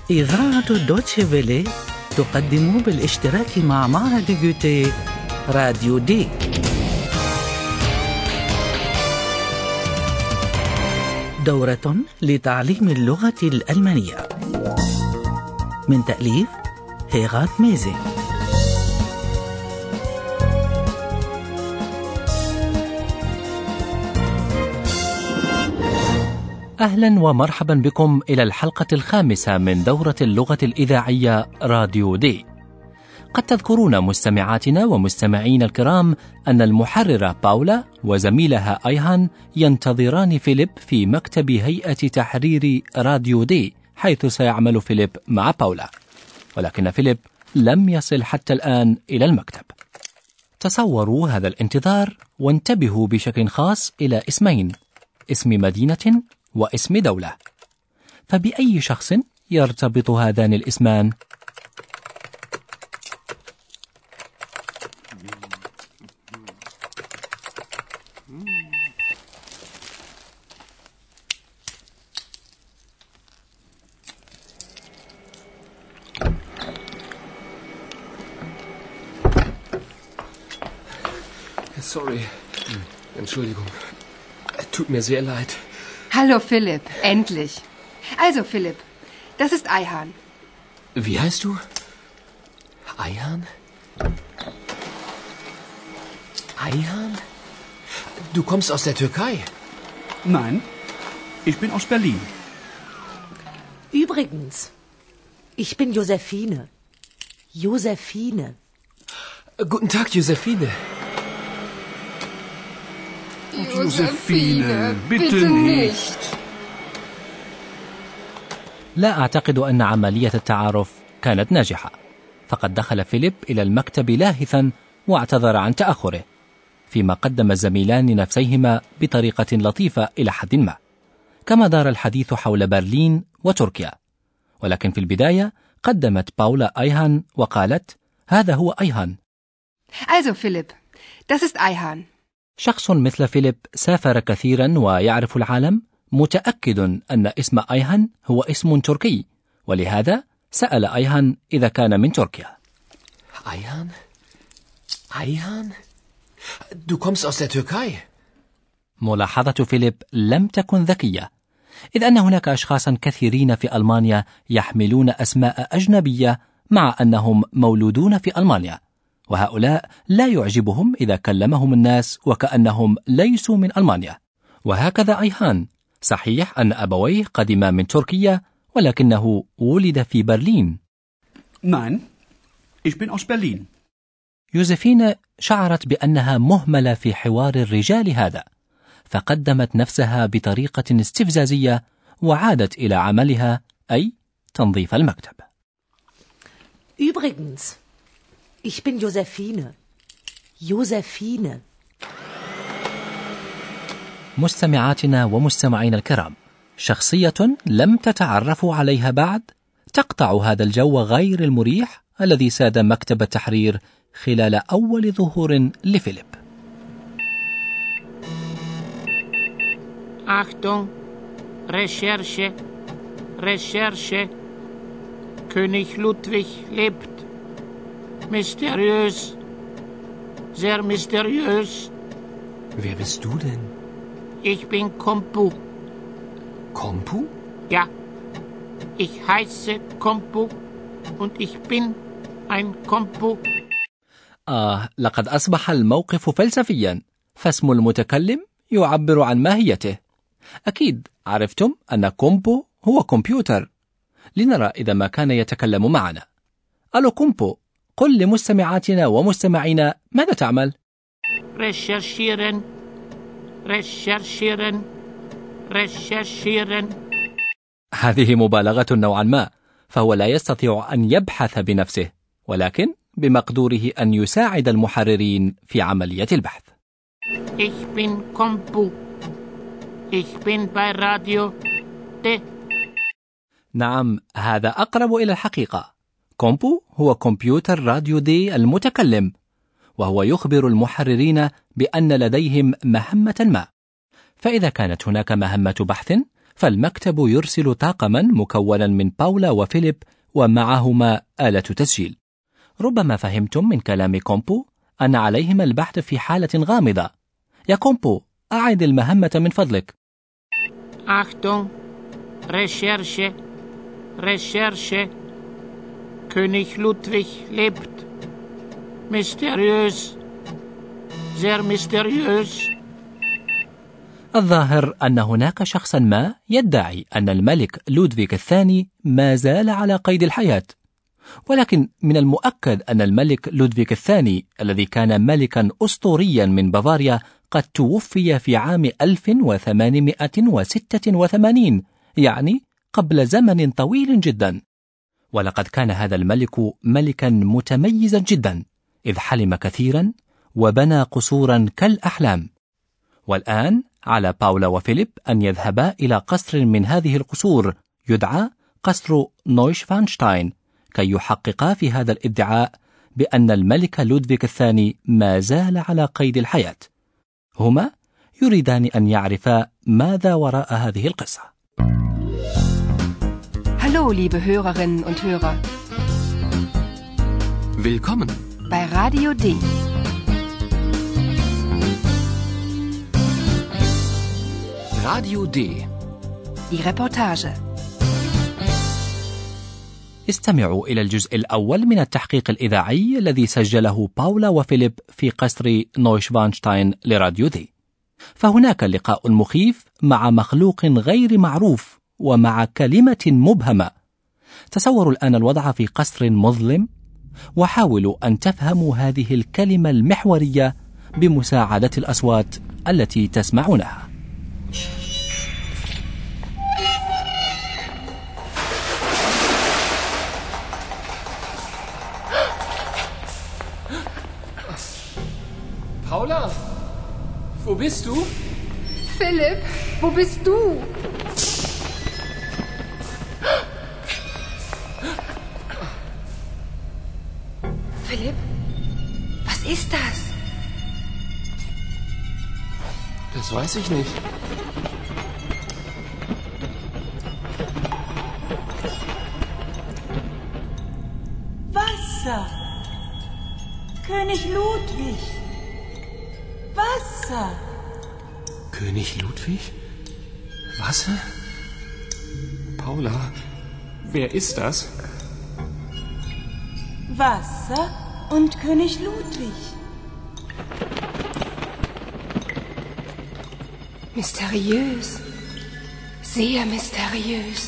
إذاعة دوتشي فيلي تقدم بالاشتراك مع معهد جوتيه راديو دي. دورة لتعليم اللغة الألمانية من تأليف هيغات ميزي. أهلا ومرحبا بكم إلى الحلقة الخامسة من دورة اللغة الإذاعية راديو دي. قد تذكرون مستمعاتنا ومستمعين الكرام أن المحررة باولا وزميلها أيهان ينتظران فيليب في مكتب هيئة تحرير راديو دي، حيث سيعمل فيليب مع باولا، ولكن فيليب لم يصل حتى الآن إلى المكتب. تصوروا هذا الانتظار وانتبهوا بشكل خاص إلى اسمين، اسم مدينة واسم دولة، فبأي شخص يرتبط هذان الاسمان؟ Sorry. Entschuldigung. Tut mir sehr leid. Hallo Philipp, endlich. Also Philipp, das ist Ayhan. Wie heißt du? Ayhan? Ayhan? Du kommst aus der Türkei? Nein, ich bin aus Berlin. Übrigens, ich bin Josephine. Josephine. Guten Tag, Josephine. Josephine, bitte nicht. لا أعتقد أن عملية التعارف كانت ناجحة، فقد دخل فيليب إلى المكتب لاهثا واعتذر عن تأخره، فيما قدم الزميلان نفسيهما بطريقة لطيفة إلى حد ما، كما دار الحديث حول برلين وتركيا. ولكن في البداية قدمت باولا أيهان وقالت: هذا هو أيهان. Also Philipp, das ist Ayhan. شخص مثل فيليب سافر كثيرا ويعرف العالم متأكد أن اسم أيهان هو اسم تركي، ولهذا سأل أيهان إذا كان من تركيا. Ayhan? Ayhan? Du kommst aus der Türkei? ملاحظة فيليب لم تكن ذكية، إذ أن هناك أشخاصا كثيرين في ألمانيا يحملون أسماء أجنبية مع أنهم مولودون في ألمانيا، وهؤلاء لا يعجبهم إذا كلمهم الناس وكأنهم ليسوا من ألمانيا. وهكذا أيهان، صحيح أن أبويه قدما من تركيا، ولكنه ولد في برلين. Nein, ich bin aus Berlin. يوزفين شعرت بأنها مهملة في حوار الرجال هذا، فقدمت نفسها بطريقة استفزازية وعادت إلى عملها، أي تنظيف المكتب. Übrigens, ich bin Josephine. Josephine. مستمعاتنا ومستمعين الكرام، شخصية لم تتعرفوا عليها بعد تقطع هذا الجو غير المريح الذي ساد مكتب التحرير خلال أول ظهور لفيليب. Achtung, Recherche, Recherche. König Ludwig lebt. Mysteriös, sehr mysteriös. Wer bist du denn? Ich bin Kompu. Kompu? Ja, ich heiße Kompu und ich bin ein Kompu. لقد أصبح الموقف فلسفيا، فاسم المتكلم يعبر عن ماهيته. أكيد عرفتم أن كومبو هو كمبيوتر. لنرى إذا ما كان يتكلم معنا. ألو كومبو، قل لمستمعاتنا ومستمعينا ماذا تعمل؟ Recherchieren, recherchieren, recherchieren. هذه مبالغة نوعا ما، فهو لا يستطيع أن يبحث بنفسه، ولكن بمقدوره أن يساعد المحررين في عملية البحث. Ich bin Kompu. Ich bin bei Radio D. نعم، هذا أقرب إلى الحقيقة. كومبو هو كمبيوتر راديو دي المتكلم، وهو يخبر المحررين بأن لديهم مهمة ما. فإذا كانت هناك مهمة بحث فالمكتب يرسل طاقما مكونا من باولا وفيليب ومعهما آلة تسجيل. ربما فهمتم من كلام كومبو أن عليهما البحث في حالة غامضة. يا كومبو، أعد المهمة من فضلك. Achtung, Recherche, Recherche. König Ludwig lebt. Mysteriös, sehr mysteriös. الظاهر أن هناك شخصا ما يدعي أن الملك لودفيك الثاني ما زال على قيد الحياة، ولكن من المؤكد أن الملك لودفيك الثاني الذي كان ملكا أسطوريا من بافاريا قد توفي في عام 1886، يعني قبل زمن طويل جدا. ولقد كان هذا الملك ملكا متميزا جدا، إذ حلم كثيرا وبنى قصورا كالأحلام. والآن على باولا وفيليب أن يذهبا إلى قصر من هذه القصور يدعى قصر نويشفانشتاين كي يحققا في هذا الادعاء بأن الملك لودفيك الثاني ما زال على قيد الحياة. هما يريدان أن يعرفا ماذا وراء هذه القصة. Hallo, liebe Hörerinnen und Hörer. Willkommen Bei Radio D. Radio D. Die Reportage. استمعوا إلى الجزء الأول من التحقيق الإذاعي الذي سجله باولا وفيليب في قصر نويشفانشتاين لراديو دي. فهناك لقاء مخيف مع مخلوق غير معروف ومع كلمة مبهمة. تصوروا الآن الوضع في قصر مظلم وحاولوا أن تفهموا هذه الكلمة المحورية بمساعدة الأصوات التي تسمعونها. Paula, wo bist du? Philipp, wo bist du? Philipp, was ist das? Das weiß ich nicht. Wasser. König Ludwig. Wasser. König Ludwig? Wasser? Paula, wer ist das? Wasser und König Ludwig. Mysteriös. Sehr mysteriös.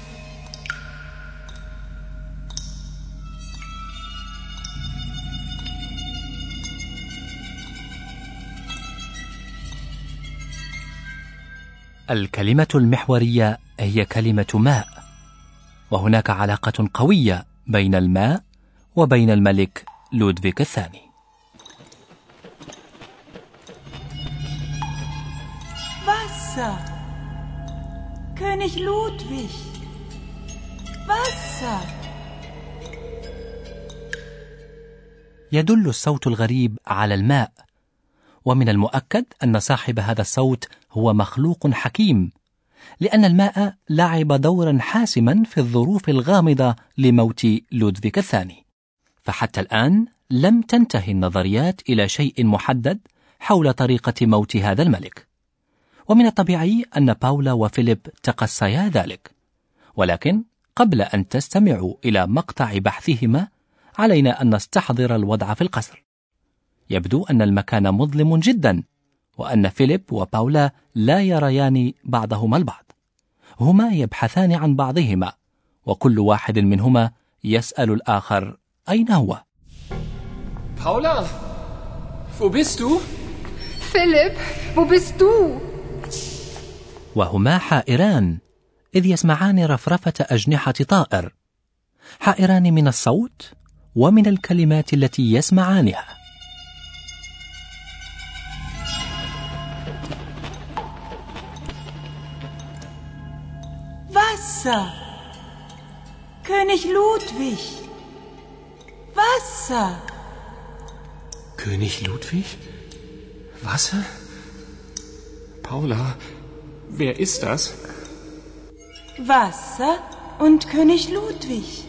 الكلمة المحورية هي كلمة ماء، وهناك علاقة قوية بين الماء وبين الملك لودفيك الثاني. Wasser. König Ludwig. Wasser. يدل الصوت الغريب على الماء، ومن المؤكد أن صاحب هذا الصوت هو مخلوق حكيم، لأن الماء لعب دورا حاسما في الظروف الغامضة لموت لودفيك الثاني. فحتى الآن لم تنتهي النظريات إلى شيء محدد حول طريقة موت هذا الملك، ومن الطبيعي أن باولا وفيليب تقصيا ذلك. ولكن قبل أن تستمعوا إلى مقطع بحثهما علينا أن نستحضر الوضع في القصر. يبدو أن المكان مظلم جدا، وأن فيليب وباولا لا يريان بعضهما البعض. هما يبحثان عن بعضهما، وكل واحد منهما يسأل الآخر أين هو. Paula, wo bist du? Philipp, wo bist du? وهما حائران، إذ يسمعان رفرفة أجنحة طائر، حائران من الصوت ومن الكلمات التي يسمعانها. Wasser. König Ludwig. Wasser. König Ludwig? Wasser? Paula, wer ist das? Wasser und König Ludwig.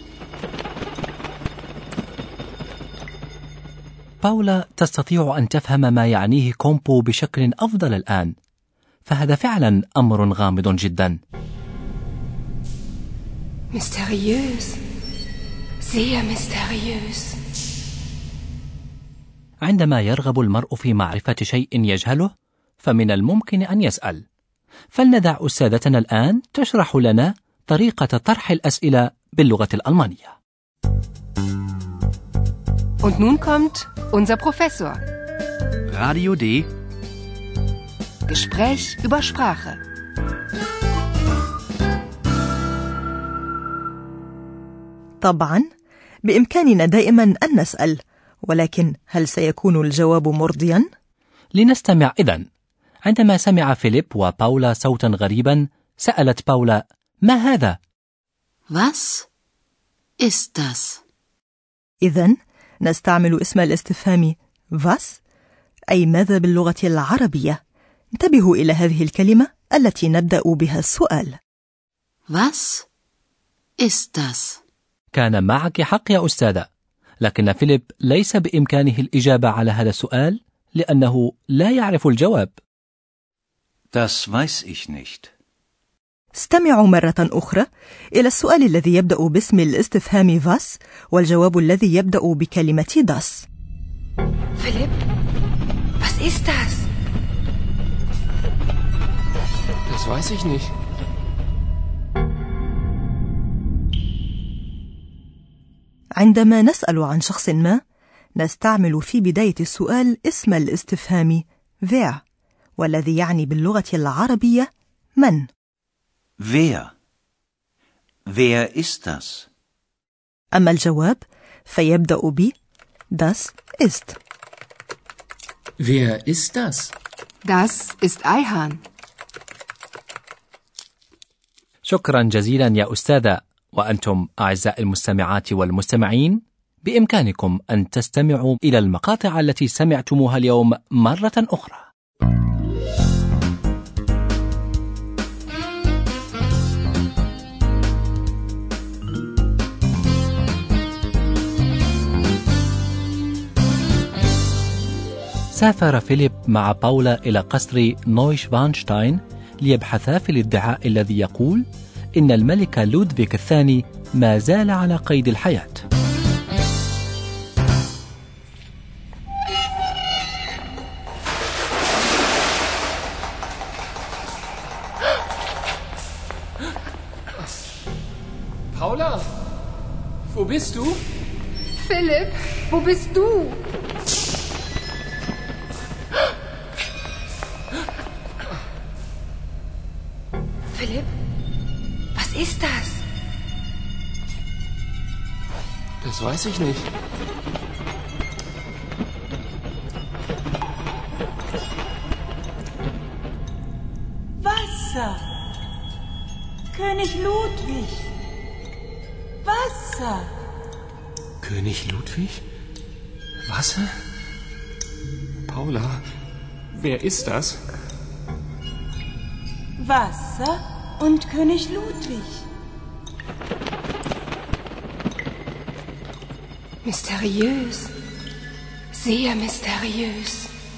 باولا تستطيع أن تفهم ما يعنيه كومبو بشكل أفضل الآن، فهذا فعلا أمر غامض جدا. Mysteriös. Sehr mysteriös. عندما يرغب المرء في معرفة شيء يجهله فمن الممكن أن يسأل. فلندع أستاذتنا الآن تشرح لنا طريقة طرح الأسئلة باللغة الألمانية. Und nun kommt unser Professor. Radio D. Gespräch über Sprache. طبعا بإمكاننا دائما أن نسأل، ولكن هل سيكون الجواب مرضيا؟ لنستمع إذن. عندما سمع فيليب وباولا صوتا غريبا سألت باولا: ما هذا؟ Was ist das؟ إذن نستعمل اسم الاستفهام was أي ماذا باللغة العربية. انتبهوا إلى هذه الكلمة التي نبدأ بها السؤال. Was ist das؟ كان معك حق يا أستاذة، لكن فيليب ليس بإمكانه الإجابة على هذا السؤال لأنه لا يعرف الجواب. Das weiß ich nicht. استمعوا مرة أخرى إلى السؤال الذي يبدأ باسم الاستفهام was والجواب الذي يبدأ بكلمة das. Philipp, was ist das? Das weiß ich nicht. عندما نسأل عن شخص ما نستعمل في بداية السؤال اسم الاستفهام wer والذي يعني باللغة العربية من. Wer? Wer ist das؟ أما الجواب فيبدأ ب das ist. Wer ist das؟ Das ist Ayhan. شكرا جزيلا يا أستاذة. وأنتم أعزائي المستمعات والمستمعين بإمكانكم أن تستمعوا إلى المقاطع التي سمعتموها اليوم مرة أخرى. سافر فيليب مع باولا إلى قصر نويشفانشتاين ليبحثا في الادعاء الذي يقول إن الملك لودفيغ الثاني ما زال على قيد الحياة. Paula, wo bist du? Philipp, wo bist du? Philipp, was ist das? Das weiß ich nicht. Wasser. König Ludwig. Wasser. König Ludwig? Wasser? Paula, wer ist das? Wasser und König Ludwig. Mysteriös. Sehr mysteriös.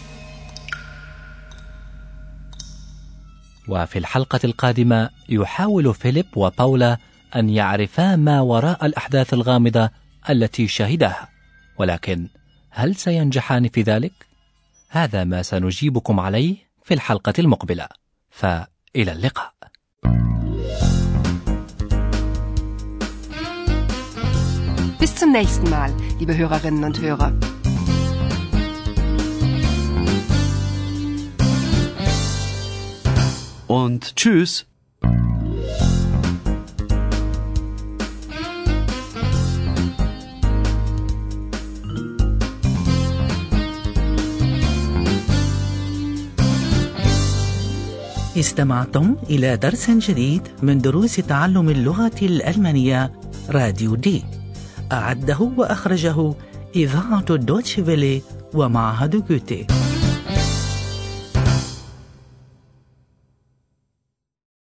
وفي الحلقة القادمة يحاول فيليب وباولا أن يعرفا ما وراء الأحداث الغامضة التي شهدها، ولكن هل سينجحان في ذلك؟ هذا ما سنجيبكم عليه في الحلقة المقبلة، فإلى اللقاء. Bis zum nächsten Mal, liebe Hörerinnen und Hörer. Und tschüss. استمعتم إلى درس جديد من دروس تعلم اللغة الألمانية راديو دي. أعده وأخرجه إذاعة دوتشي فيلي ومعهد جوتي.